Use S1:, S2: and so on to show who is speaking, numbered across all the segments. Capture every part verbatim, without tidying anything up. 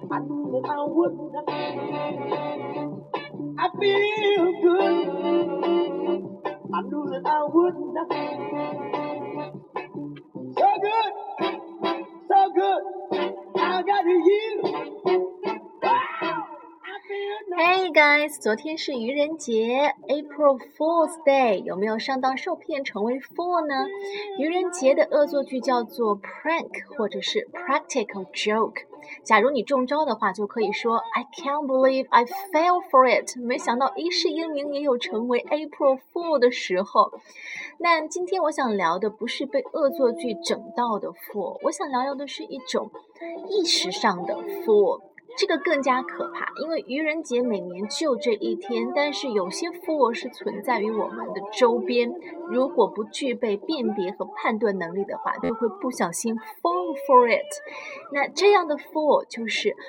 S1: I knew that I wouldn't. I feel good. I knew that I wouldn't. So good, so good. I got you.
S2: Hey guys, 昨天是愚人节 April Fool's Day， 有没有上当受骗成为 fool 呢？愚人节的恶作剧叫做 prank 或者是 practical joke。假如你中招的话，就可以说 I can't believe I fell for it。 没想到一世英名也有成为 April Fool 的时候。那今天我想聊的不是被恶作剧整到的 fool， 我想聊聊的是一种意识上的 fool。这个更加可怕，因为愚人节每年就这一天，但是有些 fool 是存在于我们的周边，如果不具备辨别和判断能力的话，就会不小心 fall for it。 那这样的 fool 就是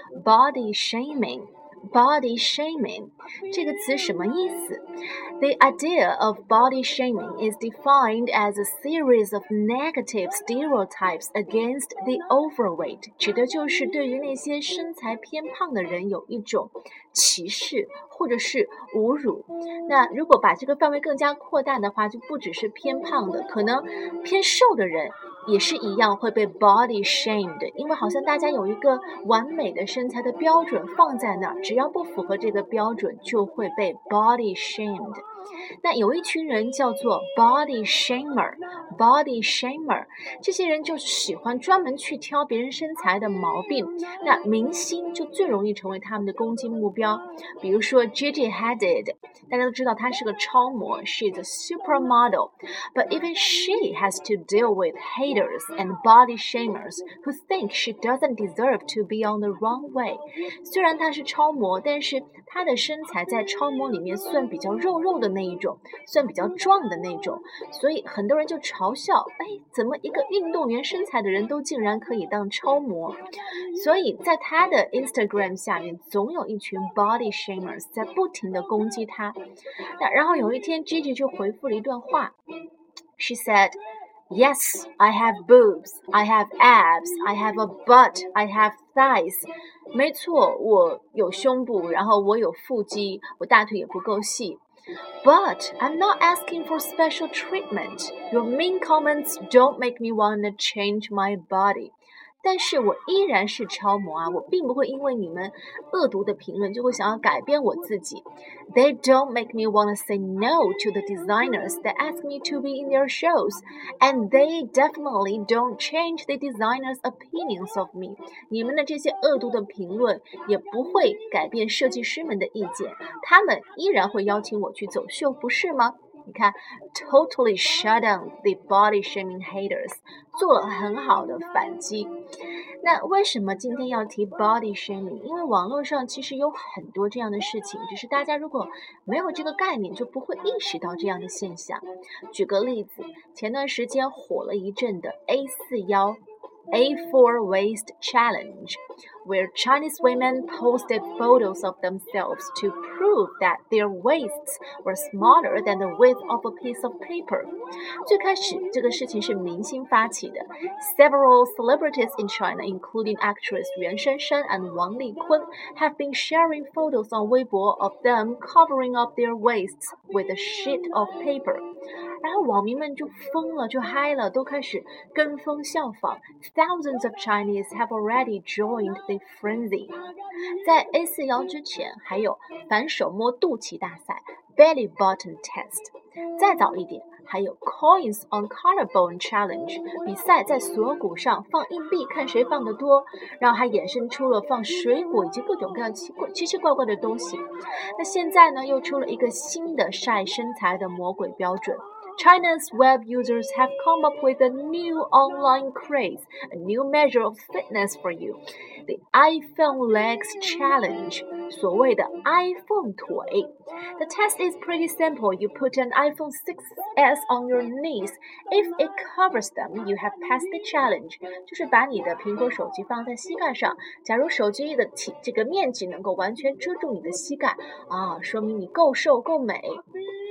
S2: body shaming。Body shaming 这个词什么意思？ The idea of body shaming is defined as a series of negative stereotypes against the overweight， 指的就是对于那些身材偏胖的人有一种歧视或者是侮辱。那如果把这个范围更加扩大的话，就不只是偏胖的，可能偏瘦的人也是一样会被 body shamed， 因为好像大家有一个完美的身材的标准放在那儿，只要不符合这个标准就会被 body shamed。 那有一群人叫做 body shamer body shamer 这些人就喜欢专门去挑别人身材的毛病，那明星就最容易成为他们的攻击目标。比如说 Gigi Hadid， 大家都知道她是个超模， She's a supermodel, but even she has to deal with haters and body shamers who think she doesn't deserve to be on the runway。 虽然她是超模，但是她的身材在超模里面算比较肉肉的那一种，算比较壮的那种，所以很多人就嘲笑，哎，怎么一个运动员身材的人都竟然可以当超模？所以在她的 Instagram 下面总有一群 body shamers 在不停地攻击她。那然后有一天 Gigi 就回复了一段话， She said Yes, I have boobs, I have abs, I have a butt, I have thighs。 没错，我有胸部，然后我有腹肌，我大腿也不够细。But I'm not asking for special treatment. Your mean comments don't make me want to change my body. 但是我依然是超模啊，我并不会因为你们恶毒的评论就会想要改变我自己。They don't make me want to say no to the designers that ask me to be in their shows, and they definitely don't change the designers' opinions of me. 你们的这些恶毒的评论也不会改变设计师们的意见，他们依然会邀请我去走秀，不是吗？你看 totally shut down the body shaming haters， 做了很好的反击。那为什么今天要提 body shaming？ 因为网络上其实有很多这样的事情，只是大家如果没有这个概念就不会意识到这样的现象。举个例子，前段时间火了一阵的 A 四腰A four waist challenge, where Chinese women posted photos of themselves to prove that their waists were smaller than the width of a piece of paper. 最开始这个事情是明星发起的， Several celebrities in China, including actress Yuan Shanshang and Wang Likun, have been sharing photos on Weibo of them covering up their waists with a sheet of paper. 然后网民们就疯了，就嗨了，都开始跟风效仿。Thousands of Chinese have already joined the frenzy. 在 A 四腰之前，还有反手摸肚脐大赛 belly button test。再早一点，还有 coins on collarbone challenge， 比赛在锁骨上放硬币，看谁放得多。然后还衍生出了放水果以及各种各样奇怪奇奇怪怪的东西。那现在呢，又出了一个新的晒身材的魔鬼标准。China's web users have come up with a new online craze, a new measure of fitness for you, the iPhone Legs Challenge, 所谓的 iPhone 腿。The test is pretty simple. You put an iPhone six S on your knees. If it covers them, you have passed the challenge. 就是把你的苹果手机放在膝盖上，假如手机的体这个面积能够完全遮住你的膝盖啊，说明你够瘦够美。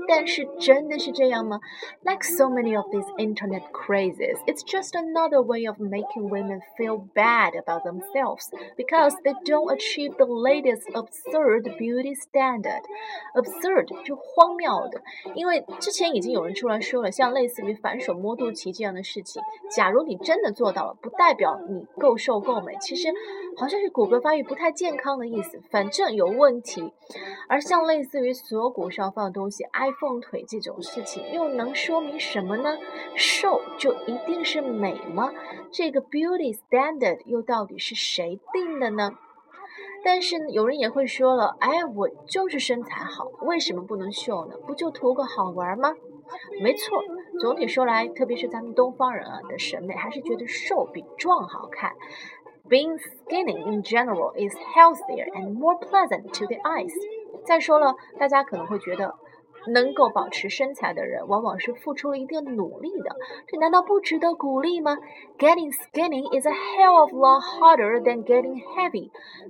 S2: 但是真的是这样吗？ Like so many of these internet crazes, it's just another way of making women feel bad about themselves because they don't achieve the latest absurd beauty standard. Absurd 就荒谬的，因为之前已经有人出来说了，像类似于反手摸肚脐这样的事情，假如你真的做到了，不代表你够瘦够美，其实好像是骨骼发育不太健康的意思，反正有问题。而像类似于锁骨上放的东西 iPhone 腿这种事情又能说明什么呢？瘦就一定是美吗？这个 beauty standard 又到底是谁定的呢？但是有人也会说了，哎，我就是身材好，为什么不能秀呢？不就图个好玩吗？没错，总体说来，特别是咱们东方人啊的审美，还是觉得瘦比壮好看。Being skinny in general is healthier and more pleasant to the eyes. 再说了，大家可能会觉得能够保持身材的人往往是付出了一定努力的，这难道不值得鼓励吗？ Getting skinny is a hell of a lot harder than getting heavy.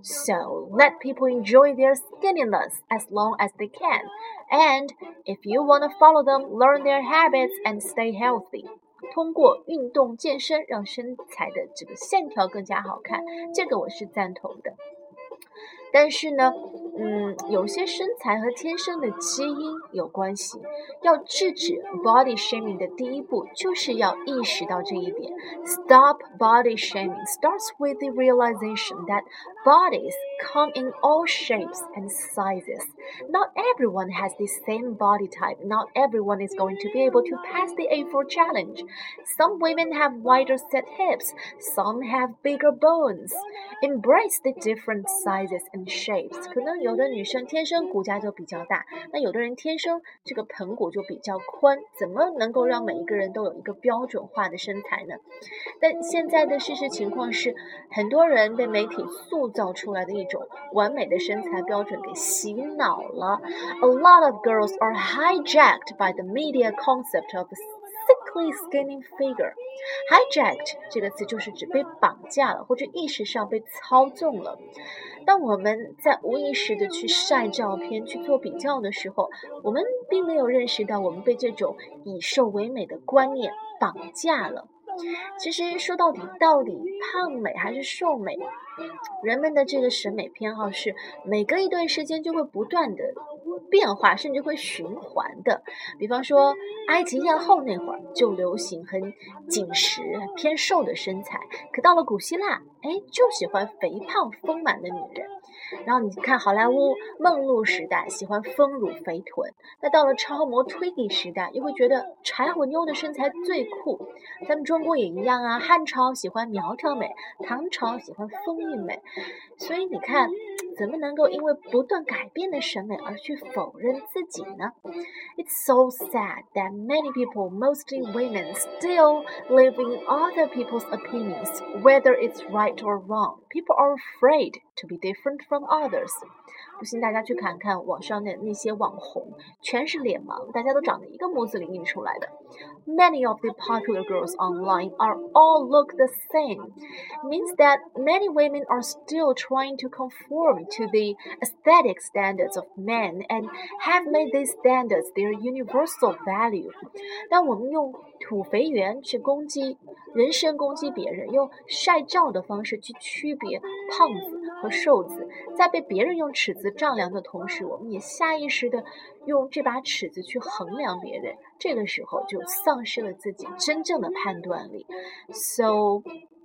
S2: So let people enjoy their skinniness as long as they can. And if you want to follow them, learn their habits and stay healthy. 通过运动健身让身材的这个线条更加好看，这个我是赞同的。但是呢，嗯，有些身材和天生的基因有关系。要制止 body shaming 的第一步，就是要意识到这一点。Stop body shaming starts with the realization that bodies come in all shapes and sizes. Not everyone has the same body type. Not everyone is going to be able to pass the A four challenge. Some women have wider set hips. Some have bigger bones. Embrace the different sizes and shapes. 可能有的女生天生骨架就比较大，那有的人天生这个盆骨就比较宽，怎么能够让每一个人都有一个标准化的身材呢？但现在的事实情况是，很多人被媒体塑造出来的一种完美的身材标准给洗脑了。A lot of girls are hijacked by the media concept of sickly skinny figure. Hijacked 这个词就是指被绑架了，或者意识上被操纵了。当我们在无意识的去晒照片去做比较的时候，我们并没有认识到我们被这种以瘦为美的观念绑架了。其实说到底，到底胖美还是瘦美，人们的这个审美偏好是每隔一段时间就会不断的变化，甚至会循环的。比方说埃及艳后那会儿就流行很紧实偏瘦的身材，可到了古希腊，哎，就喜欢肥胖丰满的女人。然后你看好莱坞梦露时代喜欢丰乳肥臀，那到了超模 Twiggy 时代又会觉得柴火妞的身材最酷。咱们中国也一样啊，汉朝喜欢苗条美，唐朝喜欢风韵美。所以你看，怎么能够因为不断改变的审美而去否认自己呢？ It's so sad that many people, mostly women, still live in other people's opinions, whether it's right or wrong. People are afraid to be different from others. 不信大家去看看网上的那些网红，全是脸盲，大家都长得一个模子里印出来的。Many of the popular girls online are all look the same. It means that many women are still trying to conform to the aesthetic standards of men and have made these standards their universal value. 当我们用土肥圆去攻击人身攻击别人，用晒照的方式去区别胖子和瘦子，在被别人用尺子丈量的同时，我们也下意识的用这把尺子去衡量别人，这个时候就丧失了自己真正的判断力。So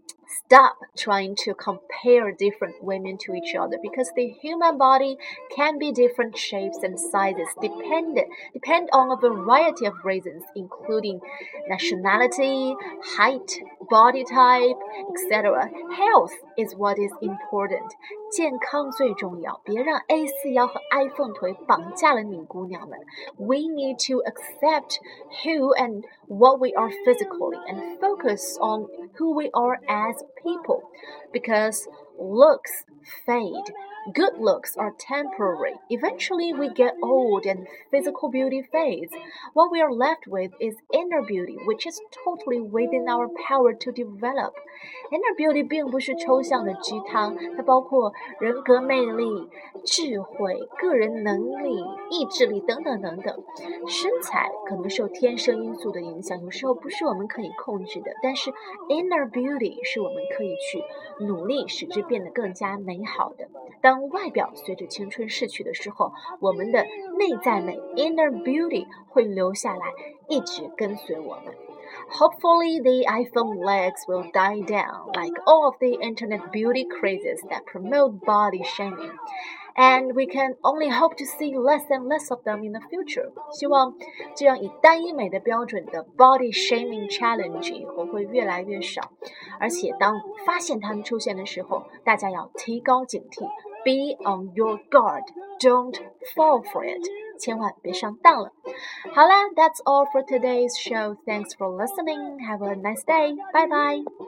S2: stop trying to compare different women to each other because the human body can be different shapes and sizes depend, depend on a variety of reasons, including nationality, height, body type, et cetera. Health is what is important. 健康最重要，别让 A 四 腰和 iPhone 腿绑架了你姑娘们。We need to accept who and what we are physically and focus on who we are as people, because looks fade Good looks are temporary. Eventually, we get old and physical beauty fades. What we are left with is inner beauty, which is totally within our power to develop. Inner beauty 并不是抽象的鸡汤，它包括人格魅力、智慧、个人能力、意志力等等等等。身材可能受天生因素的影响，有时候不是我们可以控制的，但是 inner beauty 是我们可以去努力使之变得更加美好的。当外表随着青春逝去的时候，我们的内在美 inner beauty 会留下来，一直跟随我们。Hopefully, the iPhone legs will die down, like all of the internet beauty crazes that promote body shaming. And we can only hope to see less and less of them in the future. 希望这样以单一美的标准的 body shaming challenge 以后会越来越少。而且当发现它们出现的时候，大家要提高警惕 ，be on your guard, don't fall for it. 千万别上当了。好啦 ，That's all for today's show. Thanks for listening. Have a nice day. Bye bye.